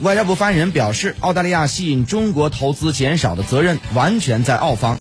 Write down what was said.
外交部发言人表示，澳大利亚吸引中国投资减少的责任完全在澳方。